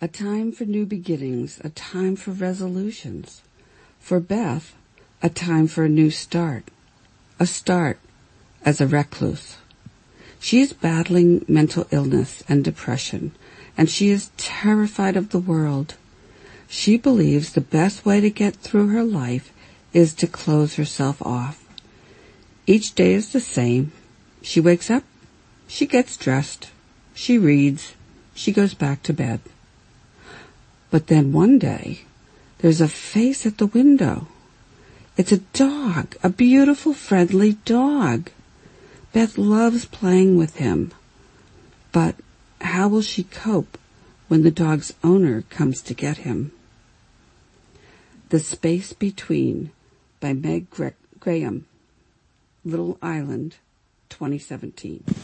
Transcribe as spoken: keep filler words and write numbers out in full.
A time for new beginnings, a time for resolutions. For Beth, a time for a new start. A start as a recluse. She is battling mental illness and depression, and she is terrified of the world. She believes the best way to get through her life is to close herself off. Each day is the same. She wakes up, she gets dressed, she reads, she goes back to bed. But then one day, there's a face at the window. It's a dog, a beautiful, friendly dog. Beth loves playing with him. But how will she cope when the dog's owner comes to get him? The Space Between by Meg Graham, Little Island, twenty seventeen.